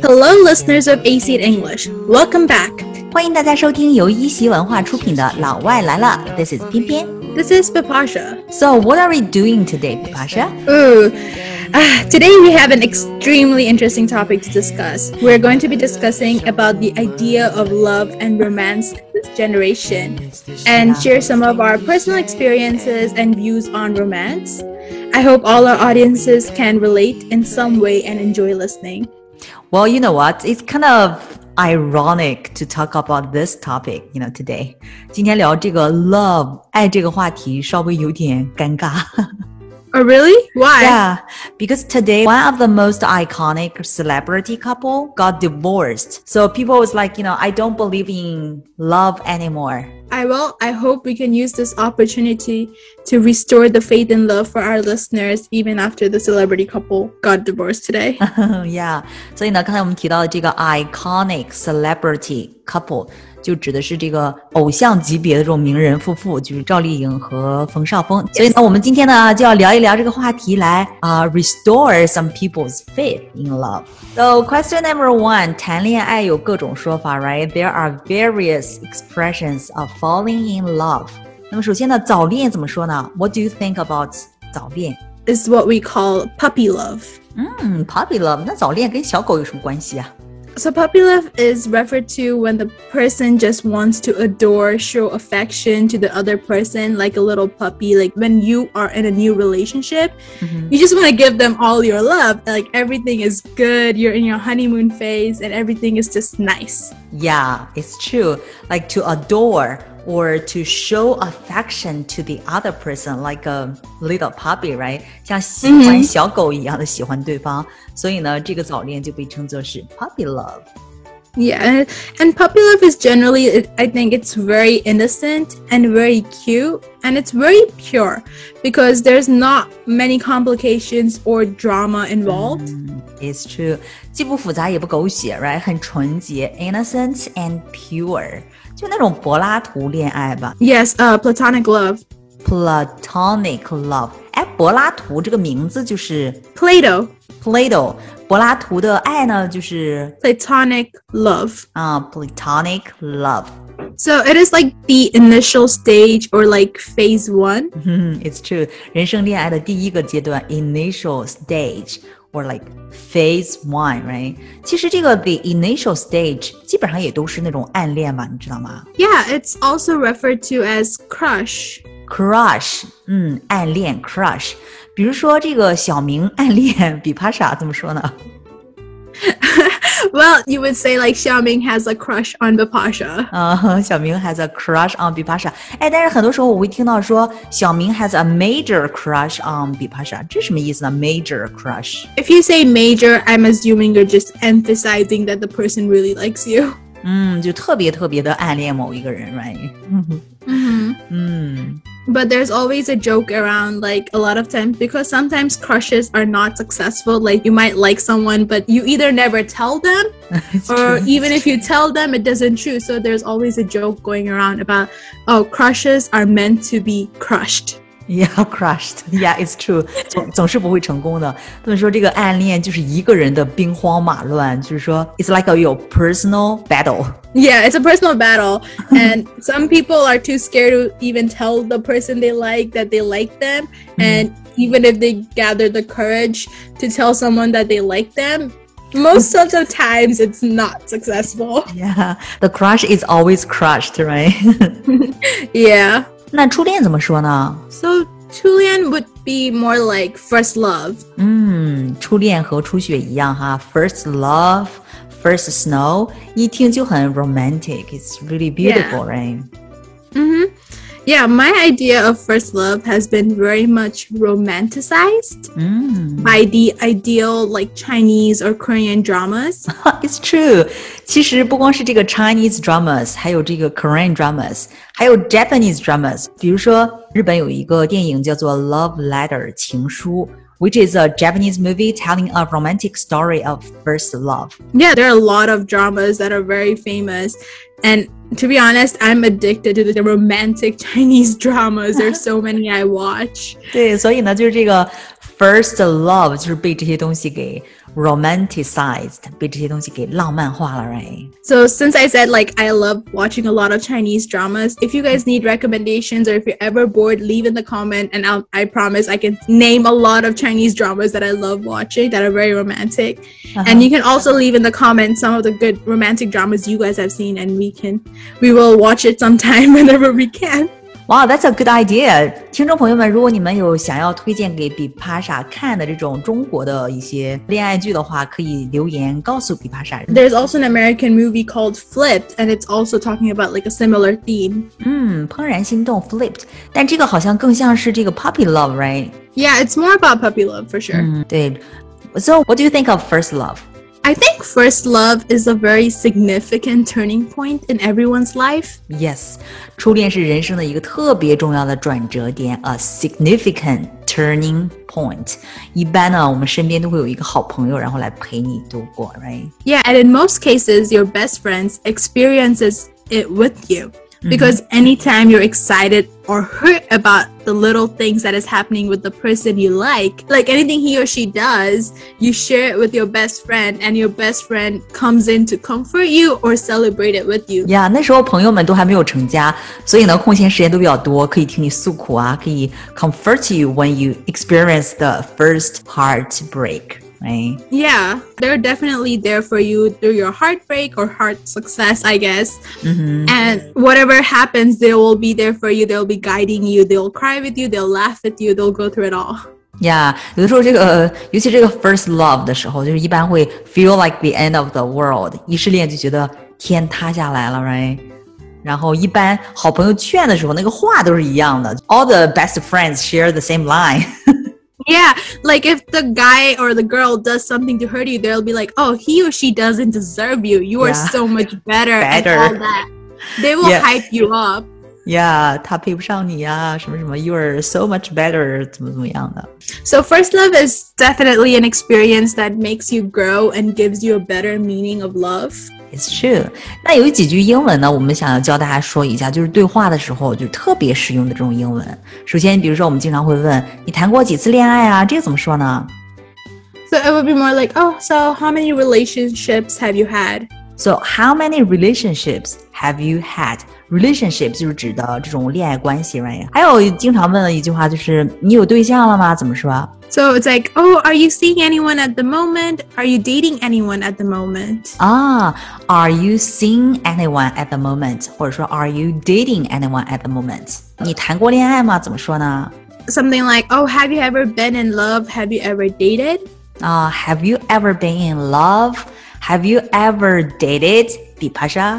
Hello, listeners of AC English. Welcome back. 欢迎大家收听由一席文化出品的《老外来了》。This is 偏偏。 This is Bipasha. So, what are we doing today, Bipasha? Today we have an extremely interesting topic to discuss. We're going to be discussing about the idea of love and romance in this generation and share some of our personal experiences and views on romance. I hope all our audiences can relate in some way and enjoy listening. Well, you know what? It's kind of ironic to talk about this topic, today. 今天聊这个 love 爱这个话题稍微有点尴尬。 Oh, really? Why? Yeah, because today one of the most iconic celebrity couple got divorced. So people was like, I don't believe in love anymore. I hope we can use this opportunity to restore the faith in love for our listeners even after the celebrity couple got divorced today. Yeah, 所以呢，刚才我们提到的这个 iconic celebrity couple 就指的是这个偶像级别的这种名人夫妇，就是赵丽颖和冯绍峰。所以呢，我们今天呢就要聊一聊这个话题来restore some people's faith in love. So question number one, 谈恋爱有各种说法 right? There are various expressions of falling in love. 那么首先呢，早恋怎么说呢？ What do you think about 早恋？ Is what we call puppy love. Puppy love. 那早恋跟小狗有什么关系啊 ？So puppy love is referred to when the person just wants to adore, show affection to the other person like a little puppy. Like when you are in a new relationship, you just want to give them all your love. Like everything is good. You're in your honeymoon phase and everything is just nice. Yeah, it's true. Like to adore or to show affection to the other person like a little puppy, right? 像喜欢小狗一样的喜欢对方。所以呢，这个早恋就被称作是 puppy love. Yeah, and puppy love is generally, I think it's very innocent and very cute and it's very pure because there's not many complications or drama involved. It's true. 既不复杂也不狗血 right? 很纯洁 innocent and pure. 就那种柏拉图恋爱吧。 Yes, platonic love. Platonic love. 哎，柏拉图这个名字就是 Plato. 柏拉图的爱呢就是 Platonic love. Platonic love. So it is like the initial stage or like phase one. It's true. 人生恋爱的第一个阶段 initial stage or like phase one, right? 其实这个 the initial stage 基本上也都是那种暗恋嘛，你知道吗？ Yeah, it's also referred to as crush. 暗恋 crush. 比如说这个小明暗恋比帕莎怎么说呢？ Well, you would say like Xiaoming has a crush on Bipasha. 小明 has a crush on 比帕莎。哎，但是很多时候我会听到说小明 has a major crush on 比帕莎，这什么意思呢？ Major crush. If you say major, I'm assuming you're just emphasizing that the person really likes you. 就特别特别的暗恋某一个人 right? But there's always a joke around like a lot of times because sometimes crushes are not successful. Like you might like someone, but you either never tell them or even if you tell them, it doesn't true. So there's always a joke going around about, crushes are meant to be crushed. Yeah, crushed. Yeah, it's true. 总是不会成功的。他们说这个暗恋就是一个人的兵荒马乱，就是说 it's like a personal battle. Yeah, it's a personal battle. And some people are too scared to even tell the person they like that they like them. And even if they gather the courage to tell someone that they like them, most of the times it's not successful. Yeah, the crush is always crushed, right? Yeah. 那初恋怎么说呢？ So 初恋 would be more like first love. 初恋和初雪一样哈 First love, first snow 一听就很 romantic. It's really beautiful, right? Yeah, my idea of first love has been very much romanticized by the ideal like Chinese or Korean dramas. It's true. 其实不光是这个 Chinese dramas, 还有这个 Korean dramas, 还有 Japanese dramas. 比如说日本有一个电影叫做 Love Letter 情书 which is a Japanese movie telling a romantic story of first love. Yeah, there are a lot of dramas that are very famous. And to be honest, I'm addicted to the romantic Chinese dramas. There's so many I watch. 对，所以呢，就是这个 first love 就是被这些东西给 romanticized， 被这些东西给浪漫化了 right? So since I said like I love watching a lot of Chinese dramas, if you guys need recommendations or if you're ever bored, leave in the comment and I promise I can name a lot of Chinese dramas that I love watching that are very romantic. And you can also leave in the comments some of the good romantic dramas you guys have seen and we will watch it sometime whenever we can. Wow, that's a good idea. 听众朋友们，如果你们有想要推荐给比帕莎看的这种中国的一些恋爱剧的话，可以留言告诉比帕莎。 There's also an American movie called Flipped, and it's also talking about like a similar theme. 怦然心动 Flipped， 但这个好像更像是这个 puppy love, right? Yeah, it's more about puppy love for sure. 对。So, what do you think of first love? I think first love is a very significant turning point in everyone's life. Yes, 初恋是人生的一个特别重要的转折点 ，a significant turning point. 一般呢，我们身边都会有一个好朋友，然后来陪你度过 ，right? Yeah, and in most cases, your best friends experiences it with you. Because anytime you're excited or hurt about the little things that is happening with the person you like anything he or she does, you share it with your best friend and your best friend comes in to comfort you or celebrate it with you. Yeah, 那时候朋友们都还没有成家，所以呢，空闲时间都比较多，可以听你诉苦啊，可以 comfort you when you experience the first heartbreak.Right? Yeah, they're definitely there for you through your heartbreak or heart success, I guess. And whatever happens, they will be there for you. They'll be guiding you. They'll cry with you. They'll laugh with you. They'll go through it all. Yeah, 有的时候这个，尤其这个 first love 的时候，就是一般会 feel like the end of the world. 一失恋就觉得天塌下来了 ，right? 然后一般好朋友劝的时候，那个话都是一样的。All the best friends share the same line. Yeah, like if the guy or the girl does something to hurt you, they'll be like, oh, he or she doesn't deserve you. You are so much better and all that. They will hype you up. Yeah, 他配不上你啊，什么什么 You are so much better 怎么样的。 So first love is definitely an experience that makes you grow and gives you a better meaning of love.It's true. 那有几句英文呢，我们想要教大家说一下，就是对话的时候就特别实用的这种英文。首先，比如说我们经常会问你谈过几次恋爱啊？这个怎么说呢？ So it would be more like, oh, so how many relationships have you had? So how many relationships have you had? Relationships 就是指的这种恋爱关系 right? 还有经常问的一句话就是你有对象了吗？怎么说 ？So it's like, oh, are you seeing anyone at the moment? Are you dating anyone at the moment? Are you seeing anyone at the moment? 或者说 Are you dating anyone at the moment? 你谈过恋爱吗？怎么说呢？ Something like, oh, have you ever been in love? Have you ever dated? Have you ever been in love? Have you ever dated? 比帕莎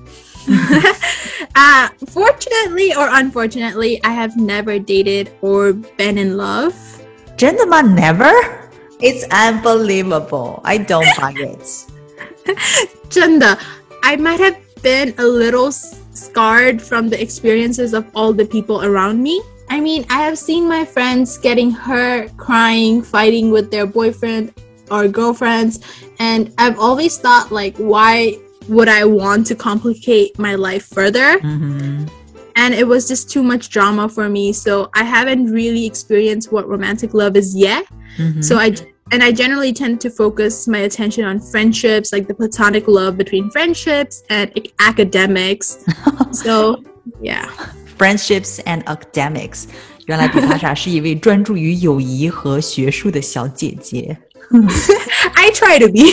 Fortunately or unfortunately, I have never dated or been in love. 真的吗 Never? It's unbelievable. I don't buy it. 真的 I might have been a little scarred from the experiences of all the people around me. I mean, I have seen my friends getting hurt, crying, fighting with their boyfriend or girlfriends, and I've always thought like, why would I want to complicate my life further? And it was just too much drama for me, so I haven't really experienced what romantic love is yet. So I generally tend to focus my attention on friendships, like the platonic love between friendships and academics. So yeah, friendships and academics. 原来比帕莎是一位专注于友谊和学术的小姐姐。 I try to be.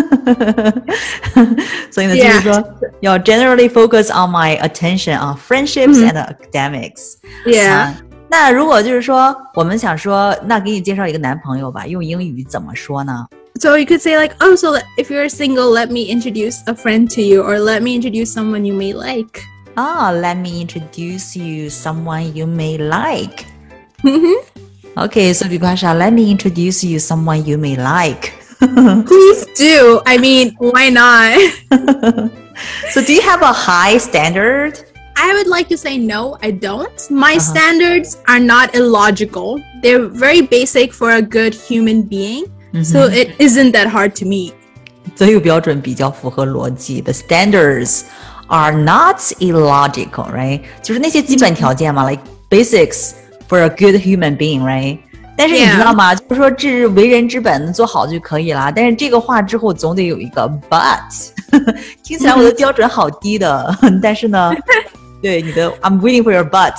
所以呢，就是说要 generally focus on my attention on friendships and academics. Yeah. 那如果就是说我们想说，那给你介绍一个男朋友吧，用英语怎么说呢？ So you could say like, oh, so if you're single, let me introduce a friend to you, or let me introduce someone you may like. Let me introduce you someone you may like. Okay, so Bipasha, let me introduce you someone you may like. Please do. I mean, why not? So do you have a high standard? I would like to say no, I don't. My standards are not illogical. They're very basic for a good human being. So it isn't that hard to meet. 择友标准比较符合逻辑。The standards are not illogical, right? 就是那些基本条件嘛，like basics for a good human being, right? 但是你知道吗？就是说这是为人之本，做好就可以了。但是这个话之后总得有一个 but， 听起来我的标准好低的。但是呢，对你的 I'm waiting for your but。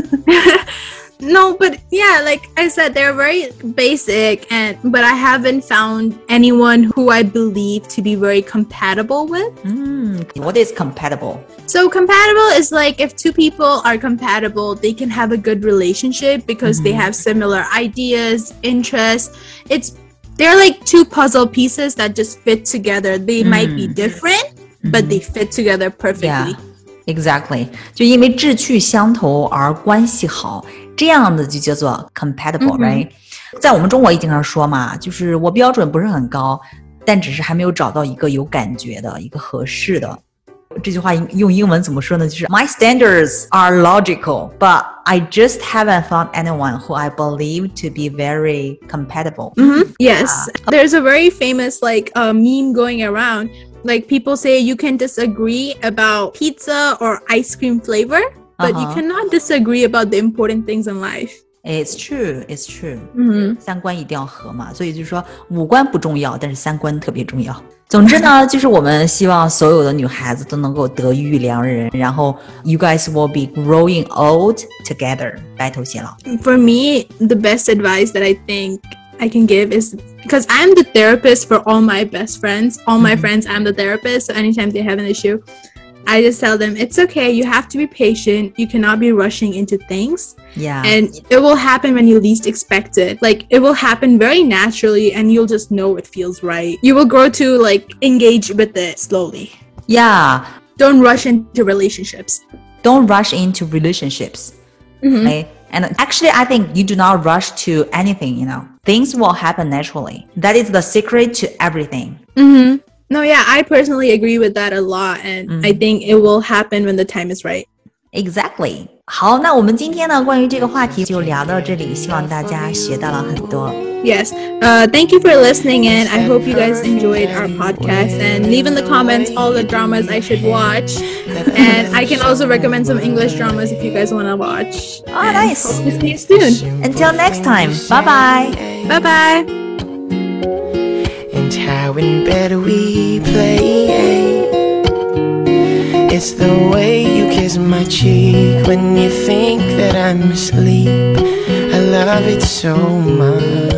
No, but yeah, like I said, they're very basic, but I haven't found anyone who I believe to be very compatible with. What is compatible? So compatible is like if two people are compatible, they can have a good relationship because they have similar ideas, interests. They're like two puzzle pieces that just fit together. They might be different, but they fit together perfectly. Yeah.Exactly， 就因为志趣相投而关系好，这样的就叫做 compatible，right？ 在我们中国也经常说嘛，就是我标准不是很高，但只是还没有找到一个有感觉的、一个合适的。这句话用英文怎么说呢？就是 My standards are logical, but I just haven't found anyone who I believe to be very compatible. Yes, there's a very famous meme going around.Like people say you can disagree about pizza or ice cream flavor, but you cannot disagree about the important things in life. It's true, it's true. 三观一定要合嘛，所以就是说五官不重要，但是三观特别重要。总之呢，就是我们希望所有的女孩子都能够得遇良人，然后 you guys will be growing old together， 白头偕老。 For me, the best advice that I think I can give is because I'm the therapist for all my best friends, all my friends, I'm the therapist. So anytime they have an issue, I just tell them it's okay. You have to be patient. You cannot be rushing into things. Yeah. And it will happen when you least expect it. Like it will happen very naturally and you'll just know it feels right. You will grow to engage with it slowly. Yeah. Don't rush into relationships. Don't rush into relationships. Okay?And actually, I think you do not rush to anything, Things will happen naturally. That is the secret to everything. No, yeah, I personally agree with that a lot. And I think it will happen when the time is right. Exactly. 好，那我们今天呢，关于这个话题就聊到这里，希望大家学到了很多。 Yes. Thank you for listening in. I hope you guys enjoyed our podcast and leave in the comments all the dramas I should watch. And I can also recommend some English dramas if you guys want to watch. Oh, nice. Hope to see you soon. Until next time. Bye-bye. Bye-bye. And how in bed we play. It's the way you kiss my cheek when you think that I'm asleep. I love it so much.